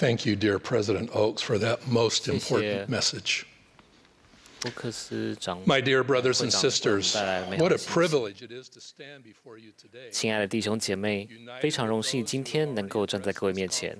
Thank you, dear President Oaks, for that most important message. My dear brothers and sisters, what a privilege it is to stand before you today. 亲爱的弟兄姐妹，非常荣幸今天能够站在各位面前。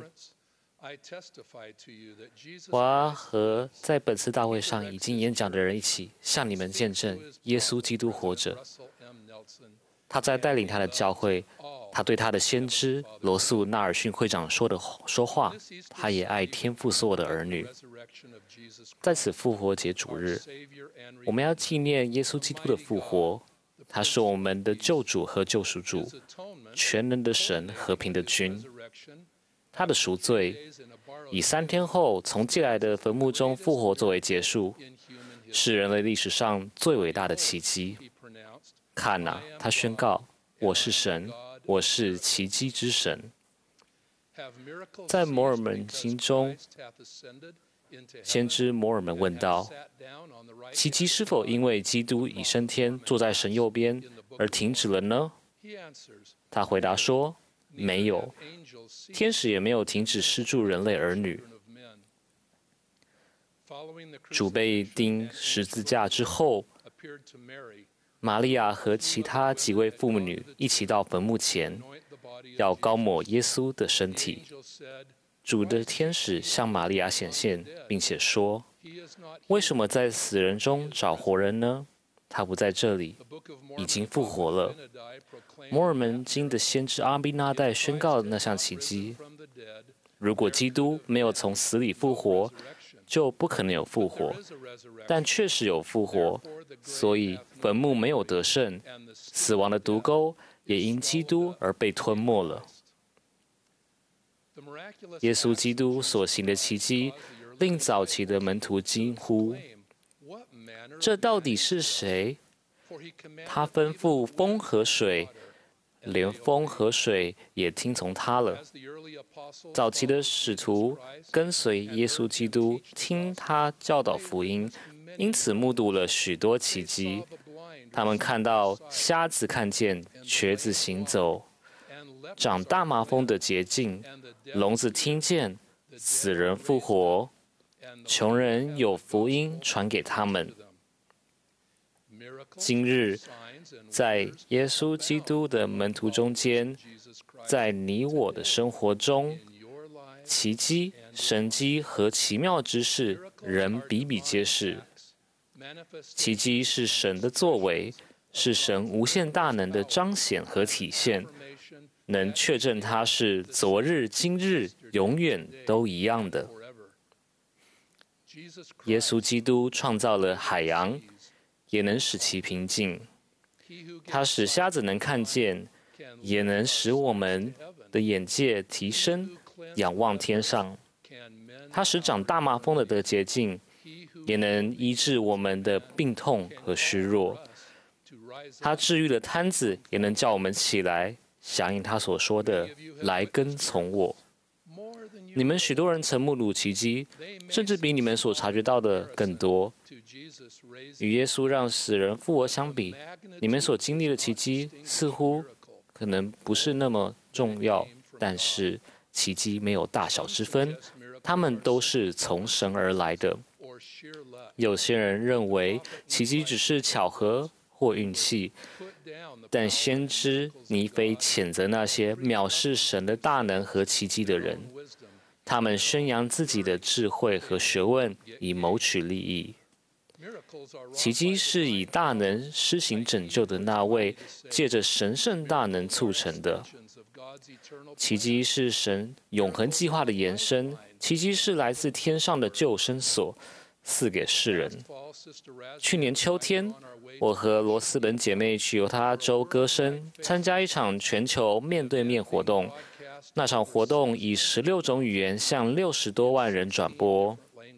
我和在本次大會上已經演講的人一起向你們見證，耶穌基督活着。他在帶領他的教會，他對他的先知羅素·納爾遜會長說話，他也愛天父所有的兒女。在此復活節主日，我們要紀念耶穌基督的復活。他是我們的救主和救贖主，全能的神，和平的君。他的贖罪以3天後從借來的墳墓中復活作為結束，是人類歷史上最偉大的奇蹟。看啊，他宣告：“我是神，我是奇蹟之神。”在摩爾門經中，先知摩爾門問道：“奇蹟是否因為基督已升天，坐在神右邊而停止了呢？”他回答說：“沒有，天使也沒有停止施助人類兒女。”主被釘十字架之後，瑪利亞和其他幾位婦女一起到墳墓前，要膏抹耶穌的身體。主的天使向瑪利亞顯現，並且說：“為什麼在死人中找活人呢？他不在這裡，已經復活了。”摩爾門經的先知阿賓那代宣告那項奇蹟：如果基督沒有從死裡復活，就不可能有復活，但確實有復活，所以墳墓沒有得勝，死亡的毒鈎也因基督而被吞沒了。耶穌基督所行的奇蹟，令早期的門徒驚呼：“這到底是誰？他吩咐風和水，連風和水也聽從他了。”早期的使徒跟隨耶穌基督，聽他教導福音，因此目睹了許多奇蹟。他們看到瞎子看見，瘸子行走，長大麻風的潔淨，聾子聽見，死人復活，窮人有福音傳給他們。今日，在耶穌基督的門徒中間，在你我的生活中，奇蹟、神蹟和奇妙之事仍比比皆是。奇蹟是神的作為，是神無限大能的彰顯和體現，能確證他是昨日、今日、永遠都一樣的。耶穌基督創造了海洋，也能使其平靜。他使瞎子能看見，也能使我們的眼界提升，仰望天上。他使長大麻風的得潔淨，也能醫治我們的病痛和虛弱。他治癒了癱子，也能叫我們起來，響應他所說的：“來跟從我。”你們許多人曾目睹奇蹟，甚至比你們所察覺到的更多。與耶穌讓死人復活相比，你們所經歷的奇蹟似乎可能不是那麼重要，但是奇蹟沒有大小之分，它們都是從神而來的。有些人認為奇蹟只是巧合或運氣，但先知尼腓譴責那些藐視神的大能和奇蹟的人，他們宣揚自己的智慧和學問，以謀取利益。奇蹟是以大能施行拯救的那位，借着神聖大能促成的。奇蹟是神永恆計劃的延伸，奇蹟是來自天上的救生所，賜給世人。去年秋天，我和羅斯本姐妹去猶他州歌聲參加一場全球面對面活動。那場活動以16種語言向60多萬人轉播。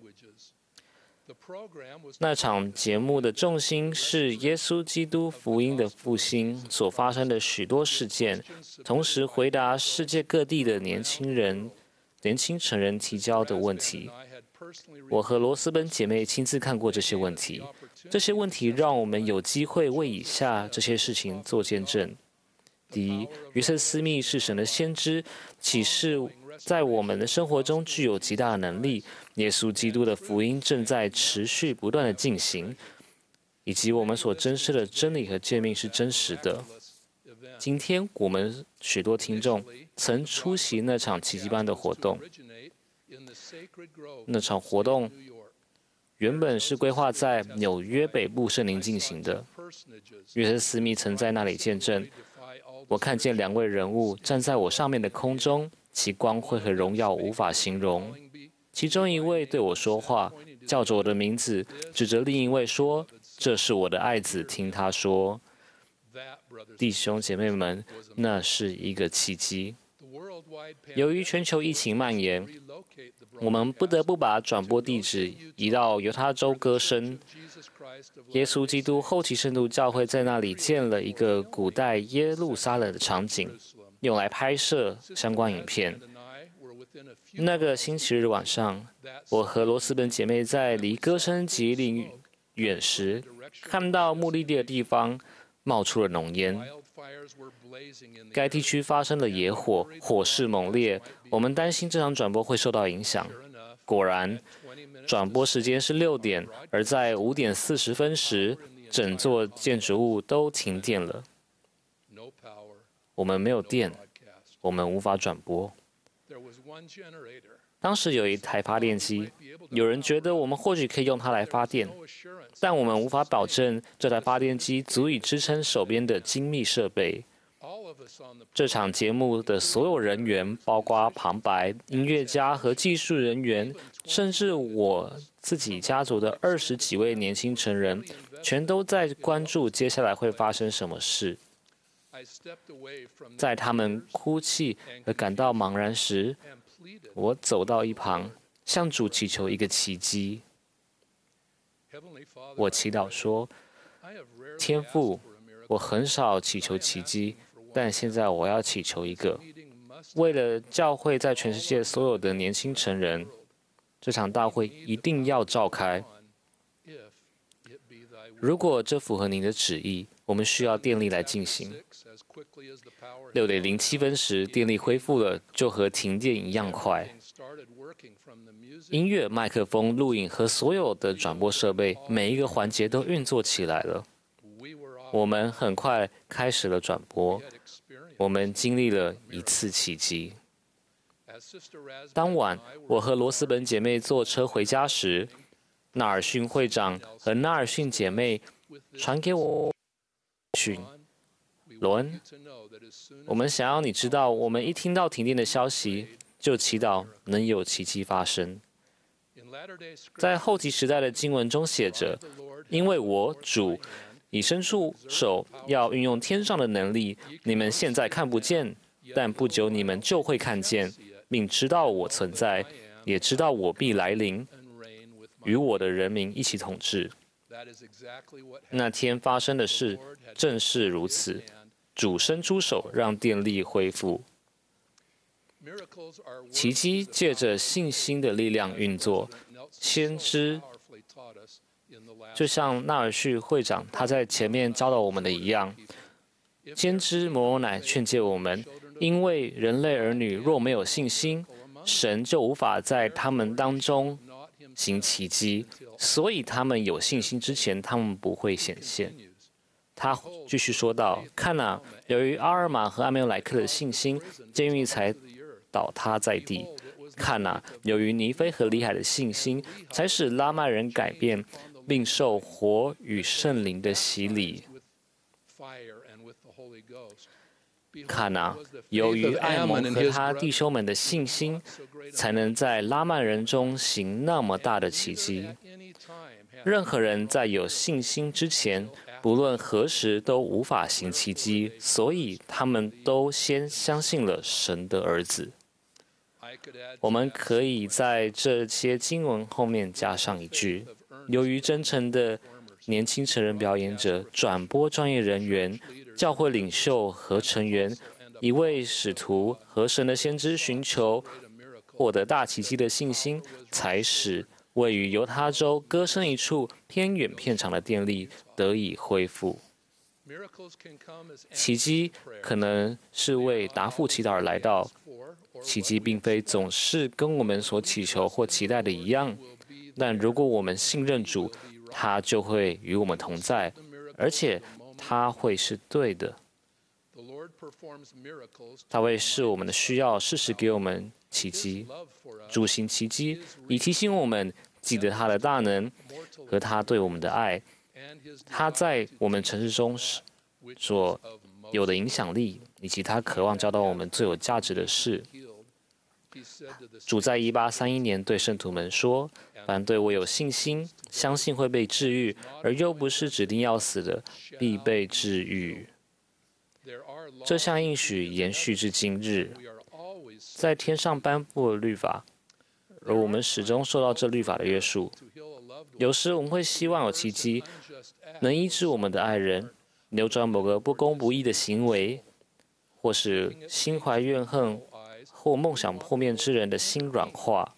那場節目的重心是耶穌基督福音的復興所發生的許多事件，同時回答世界各地的年輕成人提交的問題。我和羅斯本姐妹親自看過這些問題，這些問題讓我們有機會為以下這些事情做見證。第一，約瑟斯密是神的先知，啟示在我們的生活中具有極大的能力。耶穌基督的福音正在持續不斷的進行，以及我們所珍視的真理和誡命是真實的。今天我們許多聽眾曾出席那場奇蹟般的活動。那場活動原本是規劃在紐約北部聖林進行的。約瑟·斯密曾在那裡見證，我看見2位人物站在我上面的空中，其光輝和榮耀無法形容。其中一位對我說話，叫着我的名字，指着另一位說：“這是我的愛子，聽他說。”弟兄姐妹們，那是一個奇蹟。由於全球疫情蔓延，我們不得不把轉播地址移到猶他州歌聲。耶穌基督後期聖徒教會在那裡建了一個古代耶路撒冷的場景，用來拍攝相關影片。那個星期日晚上，我和羅斯本姐妹在離歌聲極力遠時，看到目的地的地方冒出了濃煙。該地區發生了野火，火勢猛烈。我們擔心這場轉播會受到影響。果然，轉播時間是6點，而在5點40分時，整座建築物都停電了。我們沒有電，我們無法轉播。當時有一台發電機，有人覺得我們或許可以用它來發電，但我們無法保證這台發電機足以支撐手邊的精密設備。這場節目的所有人員，包括旁白、音樂家和技術人員，甚至我自己家族的20幾位年輕成人，全都在關注接下来會發生什麼事。在他們哭泣和感到茫然時，我走到一旁，向主祈求一個奇蹟。我祈禱說：“天父，我很少祈求奇蹟，但現在我要祈求一個，為了教會在全世界所有的年輕成人，這場大會一定要召開。如果這符合您的旨意，我們需要電力來進行。”6點07分時，電力恢復了，就和停電一樣快。音樂、麥克風、錄影和所有的轉播設備，每一個環節都運作起來了。我們很快開始了轉播。我們經歷了一次奇蹟。當晚，我和羅斯本姐妹坐車回家時，納爾遜會長和納爾遜姐妹傳給我訊：羅恩，我們想要你知道，我們一聽到停電的消息，就祈禱能有奇蹟發生。在後期時代的經文中寫着：“因為我主已伸出手，要運用天上的能力，你們現在看不見，但不久你們就會看見，並知道我存在，也知道我必來臨，與我的人民一起統治。”那天發生的事正是如此，主伸出手，讓電力恢復。奇蹟借着信心的力量運作。先知就像納爾遜會長他在前面教導我們的一樣，先知摩羅乃勸誡我們，因為人類兒女若沒有信心，神就無法在他們當中行奇蹟，所以他們有信心之前，他們不會顯現。他繼續說道：“看哪，由於阿爾瑪和阿沒有萊克的信心，監獄才倒塌在地。看哪，由於尼非和里海的信心，才使拉麥人改變，並受火與聖靈的洗禮。看哪，由於艾蒙和他弟兄們的信心，才能在拉曼人中行那麼大的奇蹟。任何人在有信心之前，不論何時都無法行奇蹟，所以他們都先相信了神的兒子。”我們可以在這些經文後面加上一句：由於真誠的年輕成人表演者、轉播專業人員、教會領袖和成員、一位使徒和神的先知尋求獲得大奇蹟的信心，才使位於猶他州歌聲一處偏遠片場的電力得以恢復。 奇蹟可能是為答覆祈禱而來到，奇蹟並非總是跟我們所祈求或期待的一樣，但如果我們信任主，他就會與我們同在，而且他會是對的。他會視我們的需要，適時給我們奇蹟。主行奇蹟，以提醒我們記得他的大能和他對我們的愛，他在我們城市中所有的影響力，以及他渴望教導我們最有價值的事。主在1831年對聖徒們說：“凡對我有信心，相信會被治癒，而又不是指定要死的，必被治癒。”這項應許延續至今日。在天上頒布了律法，而我們始終受到這律法的約束。有時我們會希望有奇蹟，能醫治我們的愛人，扭轉某個不公不義的行為，或是心懷怨恨或夢想破滅之人的心軟化。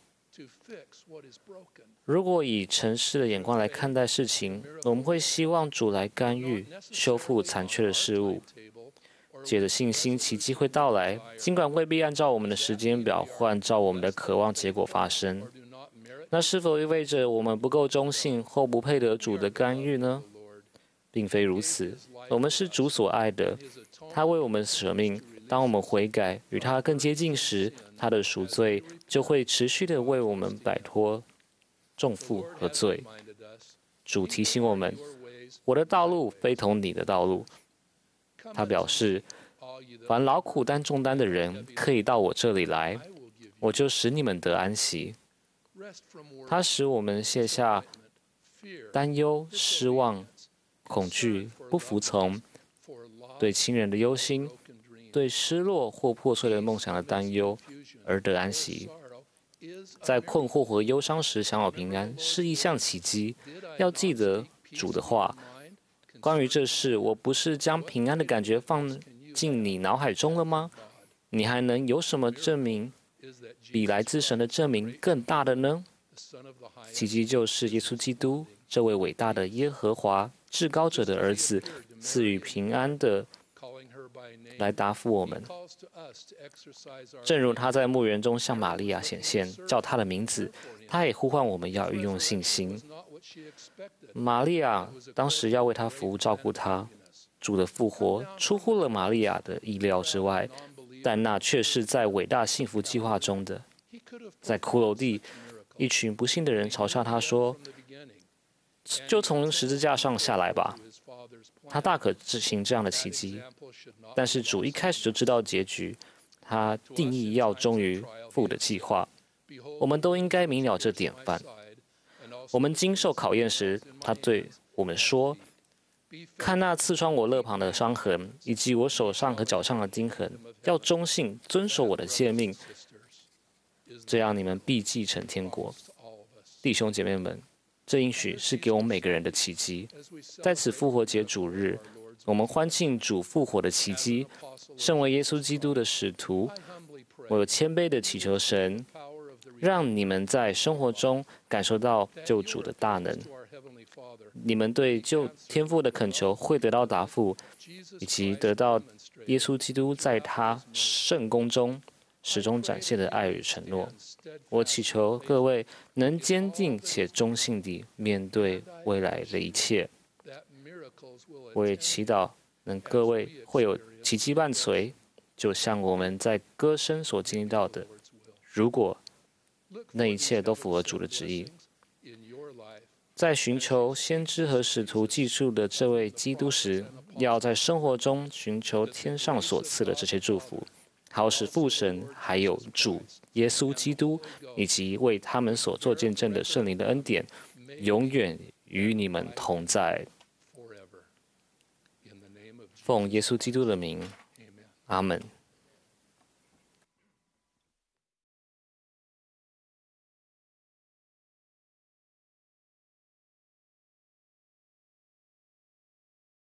如果以塵世的眼光來看待事情，我們會希望主來干預，修復殘缺的事物。借着信心，奇蹟會到來，儘管未必按照我們的時間表或按照我們的渴望結果發生。那是否意味着我們不夠忠信或不配得主的干預呢？並非如此，我們是主所愛的，他為我們捨命。當我們悔改，與他更接近時，他的贖罪就會持續地為我們擺脫重負和罪。主提醒我們：“我的道路非同你的道路。”他表示，凡勞苦擔重擔的人，可以到我這裡來，我就使你們得安息。他使我們卸下擔憂、失望、恐懼、不服從、對親人的憂心、對失落或破碎的夢想的擔憂，而得安息。在困惑和憂傷時享有平安，是一項奇蹟。要記得主的話。關於這事，我不是將平安的感覺放進你腦海中了嗎？你還能有什麼證明比來自神的證明更大的呢？奇蹟就是耶穌基督這位偉大的耶和華至高者的兒子，賜予平安的來答復我們。正如他在墓園中向瑪利亞顯現，叫他的名字，他也呼喚我們要運用信心。瑪利亞當時要為他服務、照顧他。主的復活出乎了瑪利亞的意料之外，但那卻是在偉大幸福計劃中的。在骷髏地，一群不幸的人嘲笑他說：“就從十字架上下來吧。”他大可執行這樣的奇蹟，但是主一開始就知道結局，他定義要忠於父的計劃。我們都應該明了這典範。我們經受考驗時，他對我們說：“看那刺穿我肋旁的傷痕，以及我手上和腳上的釘痕，要忠信，遵守我的誡命，這樣你們必繼承天國。”弟兄姐妹們，這應許是給我們每個人的奇蹟。在此復活節主日，我們歡慶主復活的奇蹟。身為耶穌基督的使徒，我有謙卑地祈求神，讓你們在生活中感受到救主的大能。你們對救天父的懇求會得到答復，以及得到耶穌基督在他聖工中始終展現的愛與承諾。我祈求各位能堅定且忠信地面對未來的一切。我也祈禱能各位會有奇蹟伴隨，就像我們在歌聲所經歷到的。如果那一切都符合主的旨意，在尋求先知和使徒記述的這位基督時，要在生活中尋求天上所賜的這些祝福，好使父神還有主耶穌基督以及為他們所做見證的聖靈的恩典，永遠與你們同在。奉耶穌基督的名，阿們。